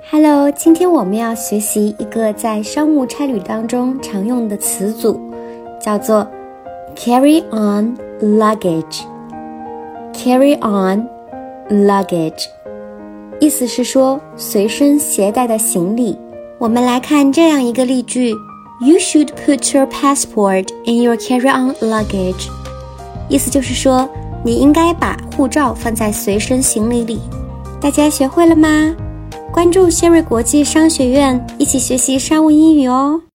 Hello， 今天我们要学习一个在商务差旅当中常用的词组，叫做 carry on luggage。carry on luggage， 意思是说随身携带的行李。我们来看这样一个例句 ：You should put your passport in your carry-on luggage。意思就是说，你应该把护照放在随身行李里。大家学会了吗？关注谢瑞国际商学院，一起学习商务英语哦。